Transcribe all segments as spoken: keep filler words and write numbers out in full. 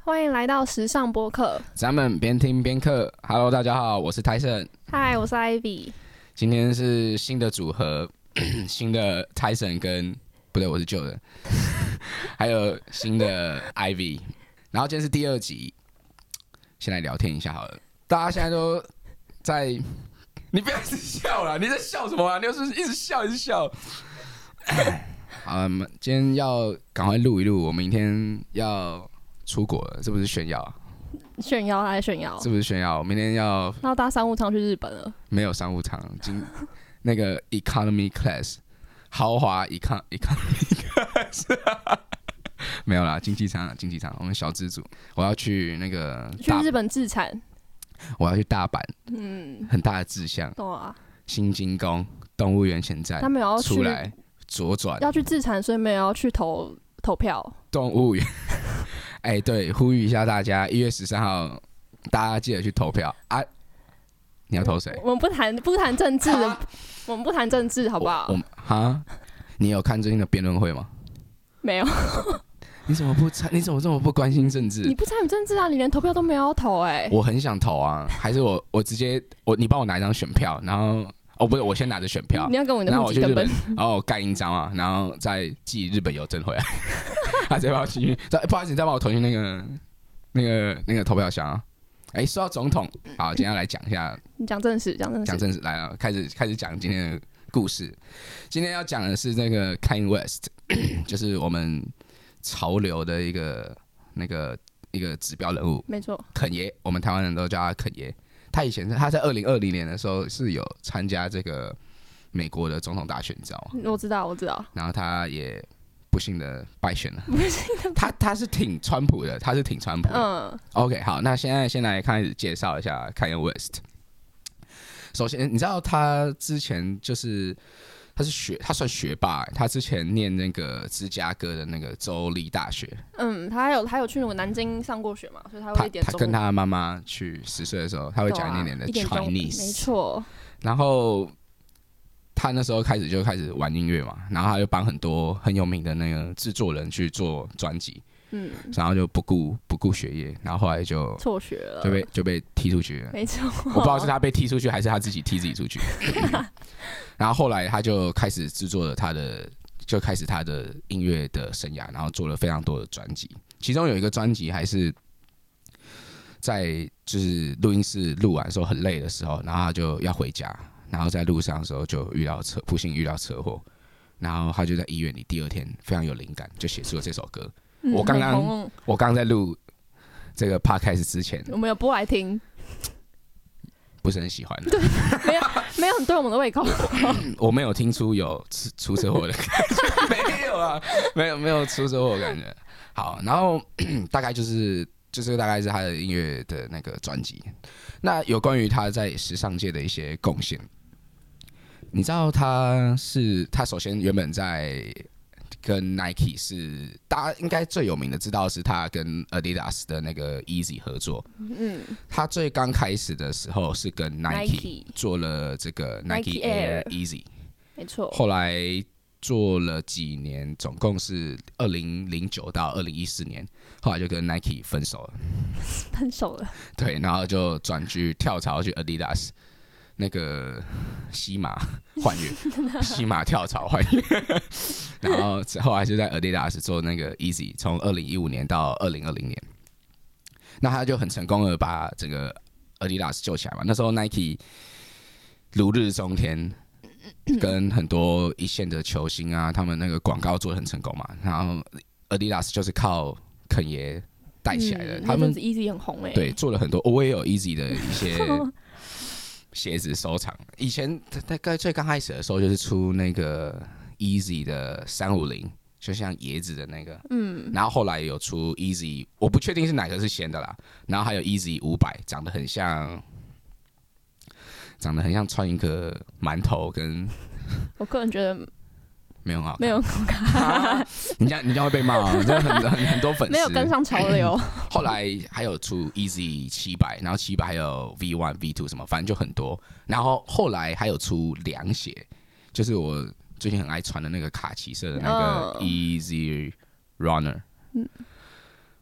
欢迎来到时尚播客， 咱们边听边课。Hello， 大家好，我是 Tyson。 嗨，我是 Ivy。 今天是新的组合，新的 Tyson 跟不对，我是旧的，还有新的 Ivy。然后今天是第二集，先来聊天一下好了。大家现在都在，你不要一直笑啦，你在笑什么啊？你又是一直笑，一直笑。好，今天要赶快录一录，我明天要出国了，是不是炫耀啊？ 炫耀还是炫耀？ 是不是炫耀？明天要要搭商务舱去日本了？ 没有商务舱，今那个 economy class 豪华 econ economy class 没有啦，经济舱，经济舱，我们小资组，我要去那个去日本自产， 我要去大阪， 嗯， 很大的志向， 对啊， 新金宫动物园前站， 他们有要去出来左转， 要去自产，所以没有要去投投票。 动物园，哎、欸，对，呼吁一下大家，一月十三号，大家记得去投票啊！你要投谁？ 我们不谈不谈政治，我们不谈政治，好不好？ 我哈，你有看最近的辩论会吗？ 没有。 你怎么不参？你怎么这么不关心政治？ 你不参与政治啊？你连投票都没有投哎、欸！ 我很想投啊，还是我我直接我你帮我拿一张选票，然后哦不是，我先拿着选票， 你要跟我的然后我去日本，然后我盖印章啊，然后再寄日本邮政回来。他直接把我寄去，不好意思，你再帮我投进那个那个那个投票箱啊。哎、欸，说到总统，好，今天要来讲一下， 你讲正事，讲正事， 讲正事，来了，开始开始讲今天的故事。今天要讲的是那个 Kanye West， 就是我们潮流的一个那个一个指标人物， 没错， 肯爷，我们台湾人都叫他肯爷。他以前他在二零二零年的时候是有参加这个美国的总统大选，你知道吗？ 我知道，我知道。 然后他也不幸的败选了。他他是挺川普的，他是挺川普的。嗯。OK， 好，那现在先来开始介绍一下 Kanye West。首先，你知道他之前就是他是学，他算学霸、欸，他之前念那个芝加哥的那个州立大学。 嗯，他还有他有去南京上过学嘛，所以他会一点中文。 他跟他妈妈去十岁的时候，他会讲一点点的 Chinese，、 啊、没错。 然后他那时候开始就开始玩音乐嘛，然后他就帮很多很有名的那个制作人去做专辑，嗯，然后就不顾不顾学业，然后后来就辍学了， 就被就被踢出去了。 没错， 我不知道是他被踢出去还是他自己踢自己出去。然后后来他就开始制作了他的，就开始他的音乐的生涯，然后做了非常多的专辑，其中有一个专辑还是在就是录音室录完的时候很累的时候，然后他就要回家。然后在路上的时候就遇到车，不幸遇到车祸，然后他就在医院里，第二天非常有灵感，就写出了这首歌。嗯、我刚刚我刚在录这个 podcast 之前， 我们有播来听， 不是很喜欢。 对，没有没有很对我们的胃口。 我没有听出有出车祸的感觉，没有啊，没有没有出车祸的感觉。好，然后大概就是。就是大概是他的音乐的那个专辑。那有关于他在时尚界的一些贡献，你知道他是他首先原本在跟 Nike 是大家应该最有名的知道是他跟 Adidas 的那个 Easy 合作。嗯，他最刚开始的时候是跟 Nike 做了这个 Nike Air Easy， 没错。 后来做了几年，总共是二零零九到二零一四年，后来就跟 Nike 分手了。 分手了。对， 然后就转去跳槽去 Adidas， 那个西马换月，西马跳槽换月。然后后来就在 Adidas 做那个 Easy， 从二零一五年到二零二零年，那他就很成功的把整个 Adidas 救起来嘛。那时候 Nike 如日中天。跟很多一线的球星啊，他们那个广告做得很成功嘛，然后 Adidas 就是靠肯爷带起来的，嗯、他们 Easy 很红哎、欸， 对，做了很多，我也有 Easy 的一些鞋子收藏。以前大概最刚开始的时候，就是出那个 Easy 的三五零，就像椰子的那个，嗯，然后后来有出 Easy， 我不确定是哪个是先的啦，然后还有 Easy 五百，长得很像。长得很像穿一个馒头，跟我个人觉得没有很好看， 没有很好看。啊、 你这样你这样会被骂哦，真的很很很多粉丝没有跟上潮流。 后来还有出 Easy 七百，然后七百还有 V 一 V 二 什么，反正就很多。然后后来还有出凉鞋，就是我最近很爱穿的那个卡其色的那个 Easy Runner。嗯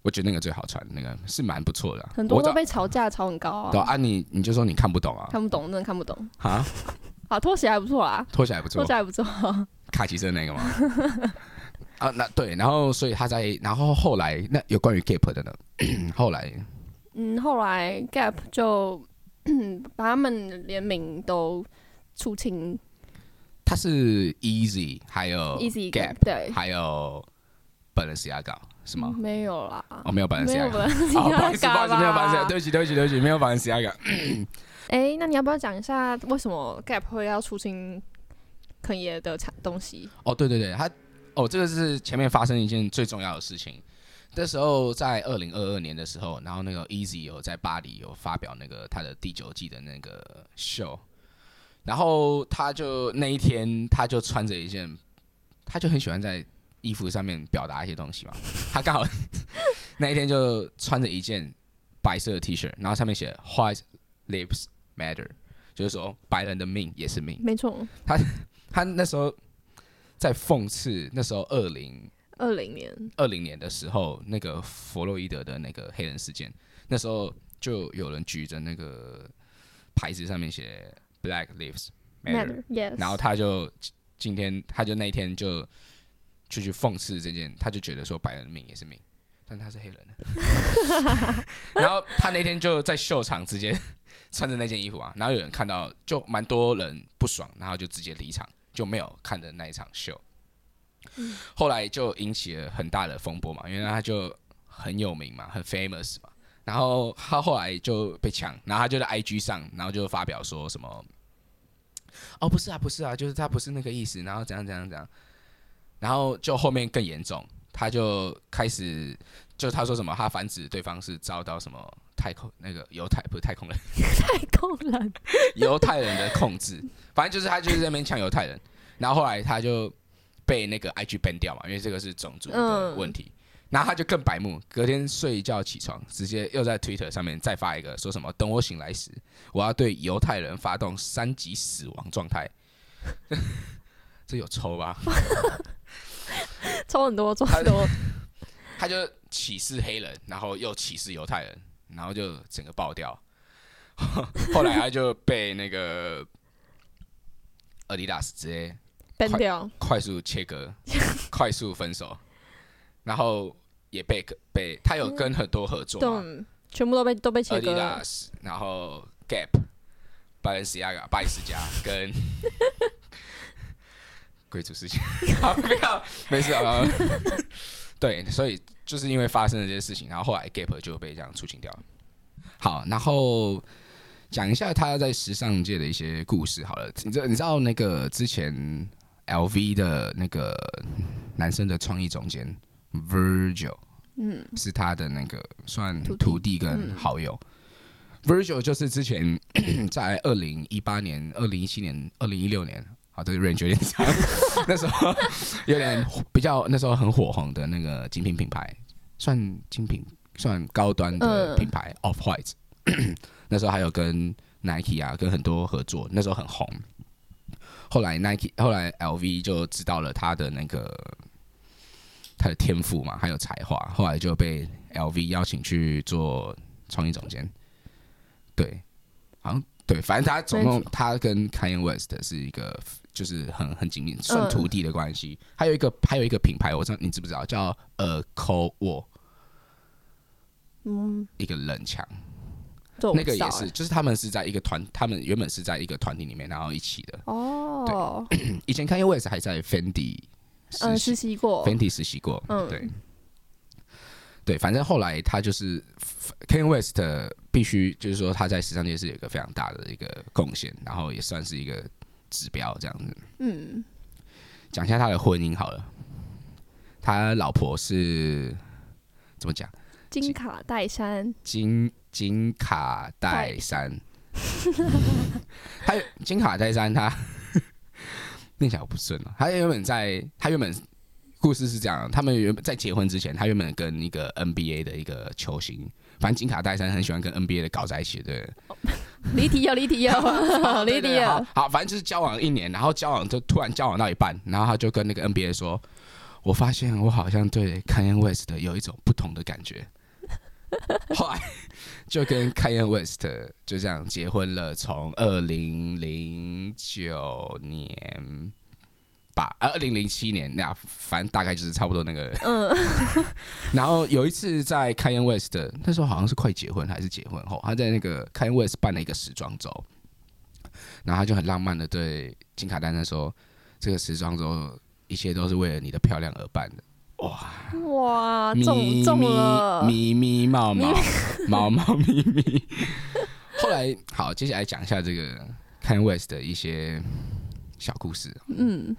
我觉得那个最好穿，那个是蛮不错的、啊。 很多都被吵架吵很高啊。 对啊，你你就说你看不懂啊， 看不懂，真的看不懂啊。 好，拖鞋还不错啦， 拖鞋还不错， 拖鞋还不错。 卡其色那个吗？啊，那对，然后所以他在，然后后来那有关于 Gap 的呢？后来， 嗯，后来 Gap 就把他们联名都出清。 他是 Easy， 还有 Easy Gap， 对， 还有 Balenciaga 是吗？ 没有啦， 哦，没有 Balenciaga， 没有 Balenciaga， 哦，不好意思，不好意思，没有 Balenciaga，对不起，对不起，对不起，没有 Balenciaga。 哎，那你要不要讲一下为什么 Gap 会要出清肯爷的产东西？ 哦，对对对，他哦，这个是前面发生一件最重要的事情。那时候在二零二二年的时候，然后那个 Easy 有在巴黎有发表那个他的第九季的那个秀。然后他就那一天，他就穿着一件，他就很喜欢在衣服上面表达一些东西嘛。他刚好那一天就穿着一件白色的 T 恤，然后上面写 "White Lives Matter"， 就是说白人的命也是命。 没错， 他他那时候在讽刺那时候二零二零年二零年的时候，那个弗洛伊德的那个黑人事件，那时候就有人举着那个牌子上面写。Black Lives Matter，, Matter yes. 然后他就今天，他就那一天就就去讽刺这件，他就觉得说白人的命也是命，但他是黑人的。然后他那天就在秀场直接穿着那件衣服啊，然后有人看到，就蛮多人不爽，然后就直接离场，就没有看的那一场秀。嗯、后来就引起了很大的风波嘛，因为他就很有名嘛，很 famous 嘛。然后他后来就被抢，然后他就在 I G 上，然后就发表说什么，哦不是啊不是啊，就是他不是那个意思，然后怎样怎样怎样，然后就后面更严重，他就开始就他说什么，他反指对方是遭到什么太空那个犹太不是太空人， 太空人犹太人的控制，反正就是他就是在那边抢犹太人，然后后来他就被那个 I G ban 掉嘛，因为这个是种族的问题。嗯，然后他就更白目，隔天睡一觉起床，直接又在 Twitter 上面再发一个，说什么等我醒来时，我要对犹太人发动三级死亡状态。这有抽吧？ 抽很多，抽很多。 他就歧视黑人，然后又歧视犹太人，然后就整个爆掉。后来他就被那个 Adidas 直接 ban 掉， 快速切割，快速分手，然后。也被被他有跟很多合作嘛， 嗯、全部都被都被切割了。 Adidas， 然后 Gap、Balenciaga、巴黎世家跟贵族事情，好不要没事啊。对，所以就是因为发生了这些事情，然后后来 Gap 就被这样出清掉了。好，然后讲一下他在时尚界的一些故事好了。你知道你知道那个之前 L V 的那个男生的创意总监。Virgil， 嗯，是他的那个算徒弟跟好友。嗯、Virgil 就是之前在二零一八年、二零一七年、二零一六年，好，这个 range 有点长，那时候有点比较那时候很火红的那个精品品牌，算精品算高端的品牌、嗯、Off-White， 那时候还有跟 Nike 啊跟很多合作，那时候很红。后来 Nike 后来 L V 就知道了他的那个。他的天赋嘛，还有才华，后来就被 L V 邀请去做创意总监。对，好像对，反正他总共他跟 Kanye West 是一个就是很很紧密，算徒弟的关系。嗯、还有一个还有一个品牌，我知道你知不知道，叫 A Cold War， 嗯，一个冷墙。那个也是，就是他们是在一个团，他们原本是在一个团体里面，然后一起的。哦，对，以前 Kanye West 还在 Fendi。 嗯，实习过 ，Fenty 实习过，嗯，对，对，反正后来他就是 Kanye West 必须就是说他在时尚界是有一个非常大的一个贡献，然后也算是一个指标这样子。嗯，讲一下他的婚姻好了，他老婆是怎么讲？ 金卡戴珊， 金金卡戴珊，他金卡戴珊他。念起来不顺了。他原本在，他原本故事是这样，他们原本在结婚之前，他原本跟一个 N B A 的一个球星，反正金卡戴珊很喜欢跟 N B A 的搞在一起，对。 离题了，离题了，离题了。 好，反正就是交往一年，然后交往就突然交往到一半，然后他就跟那个 N B A 说：“ 我发现我好像对 Kanye West 有一种不同的感觉。后来就跟 Kanye West 就这样结婚了，从二零零九年吧，二零零七年那反正大概就是差不多那个。嗯。然后有一次在 Kanye West 那时候好像是快结婚还是结婚后，他在那个 Kanye West 办了一个时装周，然后他就很浪漫的对金卡丹娜说：“这个时装周一切都是为了你的漂亮而办的。”哇哇，中中了， 咪咪毛毛毛毛咪咪。后来好，接下来讲一下这个 Kanye West 的一些小故事。嗯，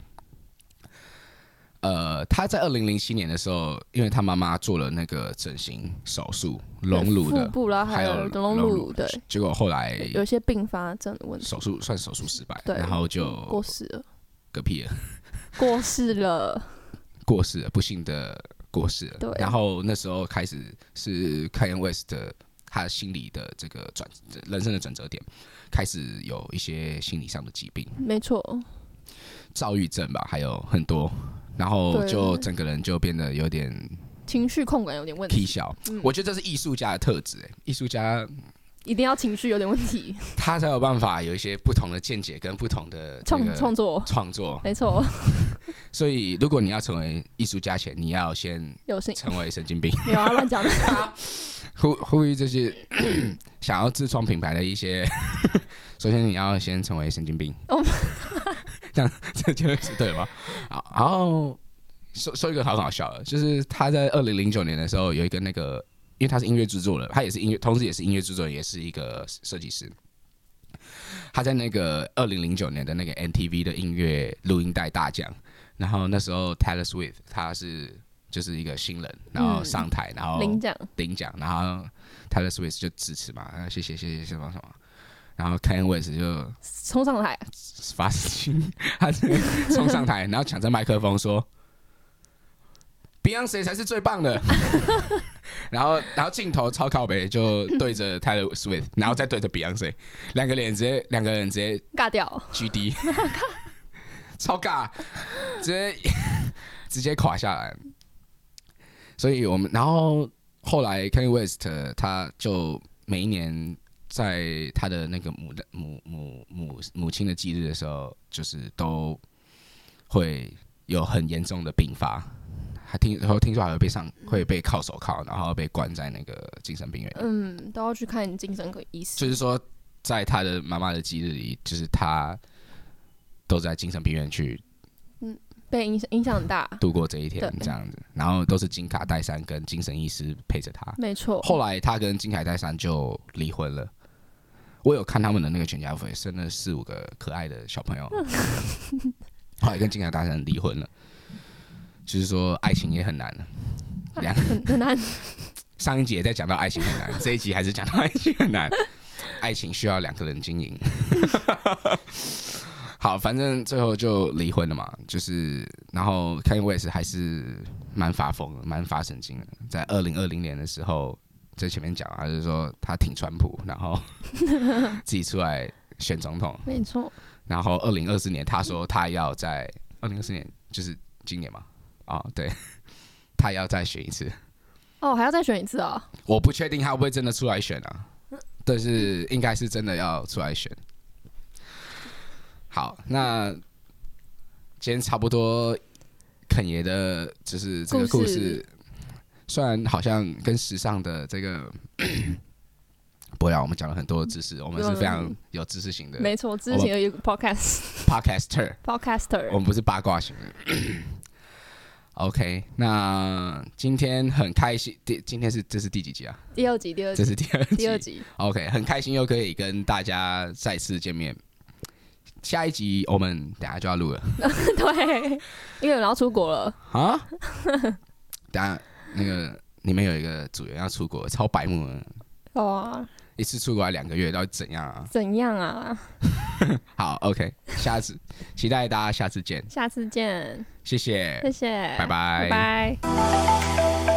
呃，他在二零零七年的时候，因为他妈妈做了那个整形手术，隆乳的， 腹部啦，还有隆乳，对， 结果后来有一些并发症的问题， 手术算手术失败， 对， 然后就过世了， 嗝屁了， 过世了。 过世了，不幸的过世了。 对， 然后那时候开始是 Kanye West 的他心理的这个转人生的转折点，开始有一些心理上的疾病， 没错， 躁郁症吧，还有很多，然后就整个人就变得有点情绪控管有点问题。 小，嗯、我觉得这是艺术家的特质，哎，艺术家。 一定要情绪有点问题， 他才有办法有一些不同的见解跟不同的创创作创作， 没错。 所以，如果你要成为艺术家前，你要先有成为神经病。 没有啊，乱讲的。 呼呼吁这些想要自创品牌的一些，首先你要先成为神经病。Oh、这样这就是对吗？好，然后说说一个好好笑的，就是他在二零零九年的时候有一个那个。因为他是音乐制作人，他也是音乐，同时也是音乐制作人，也是一个设计师。他在那个二零零九年的那个 M T V 的音乐录音带大奖，然后那时候 Taylor Swift 他是就是一个新人，然后上台，嗯、然后领奖， 领奖，然后 Taylor Swift 就支持嘛，谢谢谢谢什么什么，然后 Kanye West 就冲上台， 发心，他冲上台，然后抢着麦克风说。Beyonce 才是最棒的，然后然后镜头超靠北，就对着 Taylor Swift， 然后再对着 Beyonce， 两个脸直接两个人直接尬掉 ，G D， 超尬，直接直接垮下来。所以我们然后后来 Kanye West 他就每一年在他的那个母母母母母亲的忌日的时候，就是都会有很严重的病发。还听，然后听说还会被上，会被铐手铐，然后被关在那个精神病院。 嗯，都要去看精神科医师。 就是说，在他的妈妈的忌日里，就是他都在精神病院去， 嗯，被影响影响很大， 度过这一天这样子。然后都是金卡戴珊跟精神医师陪着他。 没错。 后来他跟金卡戴珊就离婚了。我有看他们的那个全家福，生了四五个可爱的小朋友。后来跟金卡戴珊离婚了。就是说，爱情也很难，两很很难。 上一集也在讲到爱情很难，这一集还是讲到爱情很难。爱情需要两个人经营。好，反正最后就离婚了嘛。就是，然后 Kanye West 还是蛮发疯的，蛮发神经的。在二零二零年的时候，在前面讲，他就是说他挺川普，然后自己出来选总统。 没错。 然后二零二四年，他说他要在二零二四年，就是今年嘛。哦，对，他要再选一次。 哦，还要再选一次啊、哦？ 我不确定他会不会真的出来选啊，但是应该是真的要出来选。好，那今天差不多肯爷的，就是这个故事，虽然好像跟时尚的这个。不要，我们讲了很多知识，我们是非常有知识型的。 没错，知识型的一个 podcast podcaster podcaster， 我们不是八卦型的。OK， 那今天很开心，今天是这是第几集啊？ 第二集，第二集， 这是第二集， 第二集。 OK， 很开心又可以跟大家再次见面。下一集我们等一下就要录了。 对，因为有人要出国了啊。等一下那个你们有一个组员要出国，超白目的。 哇！ 一次出国怎样到底怎样啊？ 怎样啊？ 好 ，OK， 下次期待大家下次见。 下次见， 谢谢， 谢谢， 拜拜， 拜拜。